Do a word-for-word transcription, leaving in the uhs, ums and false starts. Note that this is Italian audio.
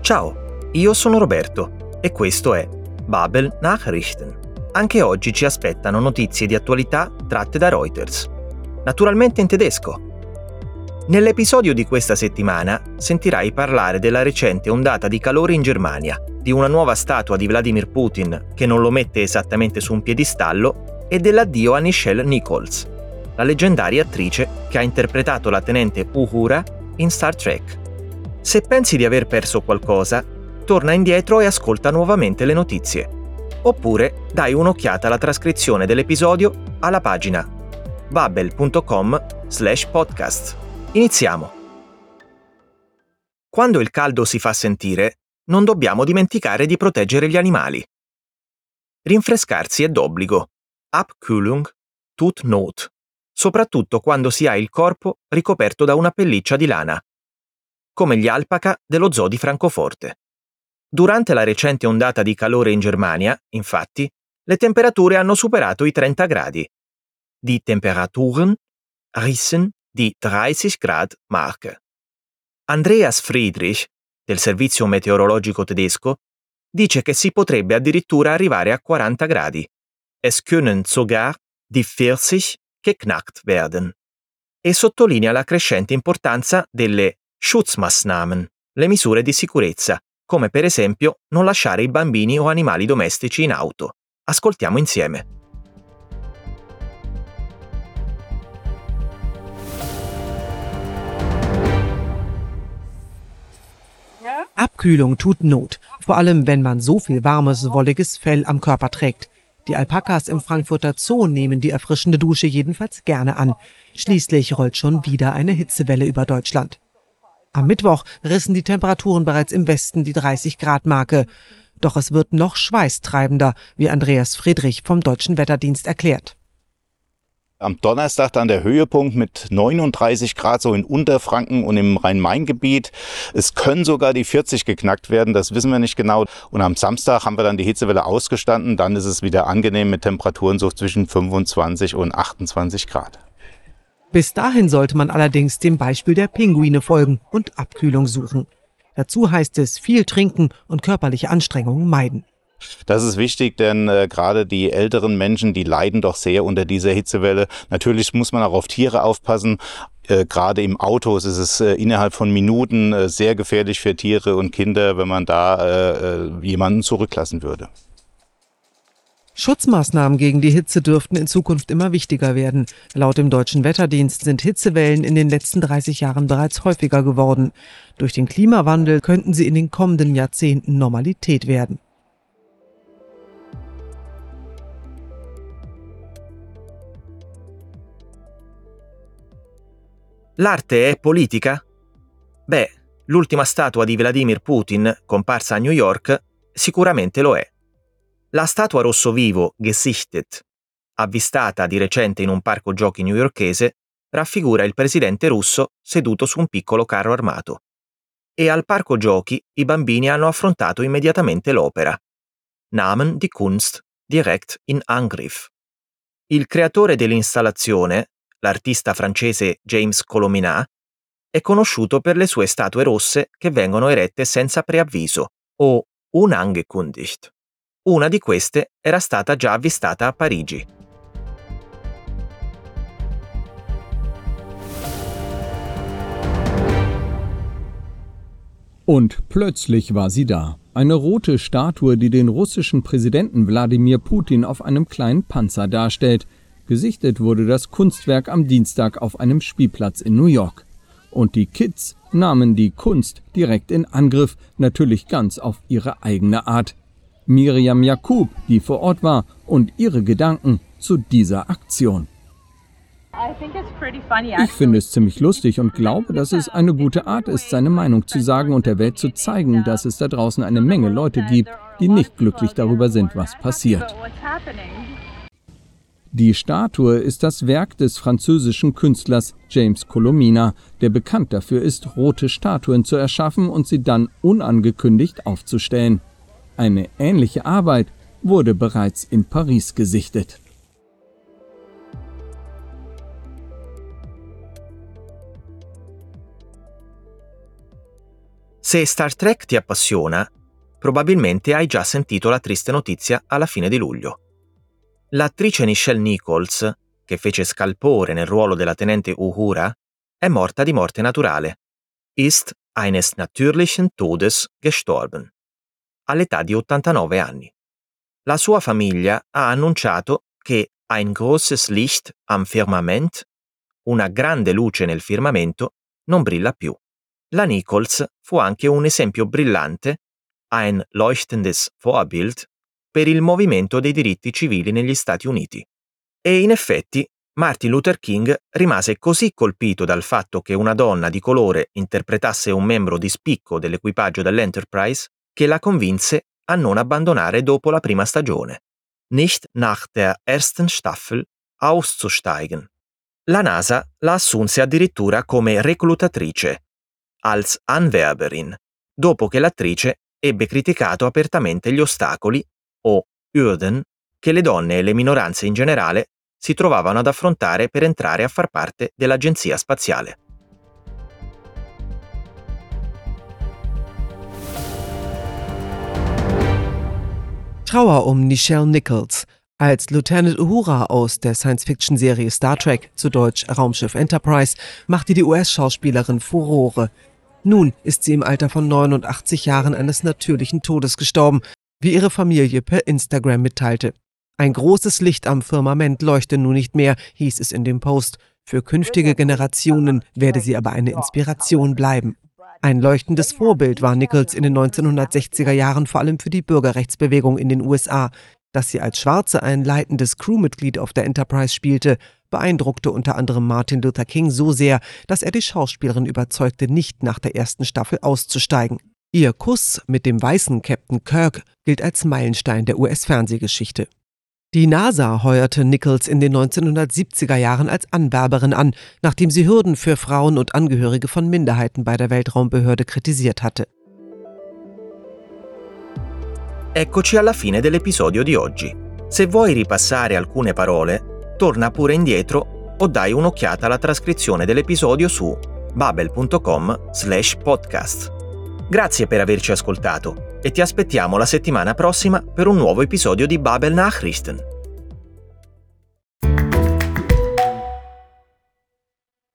Ciao, io sono Roberto e questo è Babel Nachrichten. Anche oggi ci aspettano notizie di attualità tratte da Reuters, naturalmente in tedesco. Nell'episodio di questa settimana sentirai parlare della recente ondata di calore in Germania, di una nuova statua di Vladimir Putin che non lo mette esattamente su un piedistallo e dell'addio a Nichelle Nichols, la leggendaria attrice che ha interpretato la tenente Uhura in Star Trek. Se pensi di aver perso qualcosa, torna indietro e ascolta nuovamente le notizie. Oppure dai un'occhiata alla trascrizione dell'episodio alla pagina babel punto com slash podcast. Iniziamo! Quando il caldo si fa sentire, non dobbiamo dimenticare di proteggere gli animali. Rinfrescarsi è d'obbligo. Abkühlung tut Not, soprattutto quando si ha il corpo ricoperto da una pelliccia di lana, come gli alpaca dello zoo di Francoforte. Durante la recente ondata di calore in Germania, infatti, le temperature hanno superato i trenta gradi. Die Temperaturen rissen die dreißig Grad Marke. Andreas Friedrich, del servizio meteorologico tedesco, dice che si potrebbe addirittura arrivare a quaranta gradi. Es können sogar die vierzig geknackt werden. E sottolinea la crescente importanza delle Schutzmaßnahmen, le misure di sicurezza, come per esempio non lasciare i bambini o animali domestici in auto. Ascoltiamo insieme. Abkühlung tut Not, vor allem wenn man so viel warmes, wolliges Fell am Körper trägt. Die Alpakas im Frankfurter Zoo nehmen die erfrischende Dusche jedenfalls gerne an. Schließlich rollt schon wieder eine Hitzewelle über Deutschland. Am Mittwoch rissen die Temperaturen bereits im Westen die dreißig Grad Marke. Doch es wird noch schweißtreibender, wie Andreas Friedrich vom Deutschen Wetterdienst erklärt. Am Donnerstag dann der Höhepunkt mit neununddreißig Grad so in Unterfranken und im Rhein-Main-Gebiet. Es können sogar die vierzig geknackt werden, das wissen wir nicht genau. Und am Samstag haben wir dann die Hitzewelle ausgestanden. Dann ist es wieder angenehm mit Temperaturen so zwischen fünfundzwanzig und achtundzwanzig Grad. Bis dahin sollte man allerdings dem Beispiel der Pinguine folgen und Abkühlung suchen. Dazu heißt es viel trinken und körperliche Anstrengungen meiden. Das ist wichtig, denn äh, gerade die älteren Menschen, die leiden doch sehr unter dieser Hitzewelle. Natürlich muss man auch auf Tiere aufpassen. Äh, gerade im Auto ist es äh, innerhalb von Minuten äh, sehr gefährlich für Tiere und Kinder, wenn man da äh, jemanden zurücklassen würde. Schutzmaßnahmen gegen die Hitze dürften in Zukunft immer wichtiger werden. Laut dem Deutschen Wetterdienst sind Hitzewellen in den letzten dreißig Jahren bereits häufiger geworden. Durch den Klimawandel könnten sie in den kommenden Jahrzehnten Normalität werden. L'arte è politica? Beh, l'ultima statua di Vladimir Putin, comparsa a New York, sicuramente lo è. La statua rosso vivo, Gesichtet, avvistata di recente in un parco giochi newyorkese, raffigura il presidente russo seduto su un piccolo carro armato. E al parco giochi i bambini hanno affrontato immediatamente l'opera. Nahmen die Kunst direkt in Angriff. Il creatore dell'installazione, l'artista francese James Colominat, è conosciuto per le sue statue rosse che vengono erette senza preavviso, o unangekündigt. Una di queste era stata già avvistata a Parigi. Und plötzlich war sie da. Eine rote Statue, die den russischen Präsidenten Wladimir Putin auf einem kleinen Panzer darstellt. Gesichtet wurde das Kunstwerk am Dienstag auf einem Spielplatz in New York. Und die Kids nahmen die Kunst direkt in Angriff, natürlich ganz auf ihre eigene Art. Miriam Jakub, die vor Ort war, und ihre Gedanken zu dieser Aktion. Ich finde es ziemlich lustig und glaube, dass es eine gute Art ist, seine Meinung zu sagen und der Welt zu zeigen, dass es da draußen eine Menge Leute gibt, die nicht glücklich darüber sind, was passiert. Die Statue ist das Werk des französischen Künstlers James Colominat, der bekannt dafür ist, rote Statuen zu erschaffen und sie dann unangekündigt aufzustellen. Eine ähnliche Arbeit wurde bereits in Paris gesichtet. Se Star Trek ti appassiona, probabilmente hai già sentito la triste notizia alla fine di luglio. L'attrice Nichelle Nichols, che fece Scalpore nel ruolo della tenente Uhura, è morta di morte naturale. Ist eines natürlichen Todes gestorben, all'età di ottantanove anni. La sua famiglia ha annunciato che ein großes Licht am Firmament, una grande luce nel firmamento, non brilla più. La Nichols fu anche un esempio brillante, ein leuchtendes Vorbild, per il movimento dei diritti civili negli Stati Uniti. E in effetti, Martin Luther King rimase così colpito dal fatto che una donna di colore interpretasse un membro di spicco dell'equipaggio dell'Enterprise che la convinse a non abbandonare dopo la prima stagione. Nicht nach der ersten Staffel auszusteigen. La NASA la assunse addirittura come reclutatrice, als Anwerberin, dopo che l'attrice ebbe criticato apertamente gli ostacoli, o Hürden, che le donne e le minoranze in generale si trovavano ad affrontare per entrare a far parte dell'agenzia spaziale. Trauer um Nichelle Nichols. Als Lieutenant Uhura aus der Science-Fiction-Serie Star Trek, zu Deutsch Raumschiff Enterprise, machte die U S-Schauspielerin Furore. Nun ist sie im Alter von neunundachtzig Jahren eines natürlichen Todes gestorben, wie ihre Familie per Instagram mitteilte. Ein großes Licht am Firmament leuchte nun nicht mehr, hieß es in dem Post. Für künftige Generationen werde sie aber eine Inspiration bleiben. Ein leuchtendes Vorbild war Nichols in den neunzehnhundertsechziger Jahren vor allem für die Bürgerrechtsbewegung in den U S A. Dass sie als Schwarze ein leitendes Crewmitglied auf der Enterprise spielte, beeindruckte unter anderem Martin Luther King so sehr, dass er die Schauspielerin überzeugte, nicht nach der ersten Staffel auszusteigen. Ihr Kuss mit dem weißen Captain Kirk gilt als Meilenstein der U S-Fernsehgeschichte. Die NASA heuerte Nichols in den neunzehnhundertsiebziger Jahren als Anwerberin an, nachdem sie Hürden für Frauen und Angehörige von Minderheiten bei der Weltraumbehörde kritisiert hatte. Eccoci alla fine dell'episodio di oggi. Se vuoi ripassare alcune parole, torna pure indietro o dai un'occhiata alla trascrizione dell'episodio su babel punto com slash podcast. Grazie per averci ascoltato e ti aspettiamo la settimana prossima per un nuovo episodio di Babel Nachrichten.